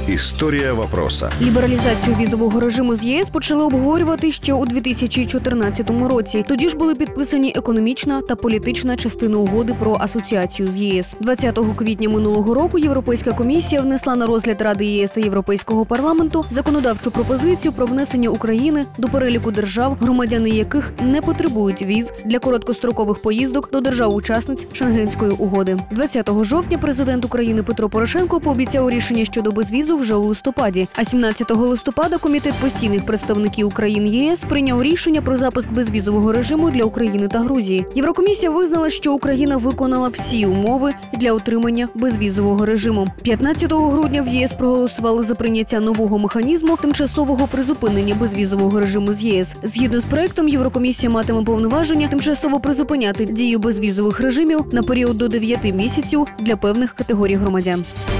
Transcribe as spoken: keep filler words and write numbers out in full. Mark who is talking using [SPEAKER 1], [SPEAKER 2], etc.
[SPEAKER 1] Історія вопроса.
[SPEAKER 2] Лібералізацію візового режиму з ЄС почали обговорювати ще у дві тисячі чотирнадцятому році. Тоді ж були підписані економічна та політична частини угоди про асоціацію з ЄС. двадцятого квітня минулого року Європейська комісія внесла на розгляд Ради ЄС та Європейського парламенту законодавчу пропозицію про внесення України до переліку держав, громадяни яких не потребують віз для короткострокових поїздок до держав-учасниць Шенгенської угоди. двадцятого жовтня президент України Петро Порошенко пообіцяв рішення щодо безвізу вже у листопаді, а сімнадцятого листопада Комітет постійних представників України ЄС прийняв рішення про запуск безвізового режиму для України та Грузії. Єврокомісія визнала, що Україна виконала всі умови для отримання безвізового режиму. п'ятнадцятого грудня в ЄС проголосували за прийняття нового механізму тимчасового призупинення безвізового режиму з ЄС. Згідно з проектом, Єврокомісія матиме повноваження тимчасово призупиняти дію безвізових режимів на період до дев'яти місяців для певних категорій громадян.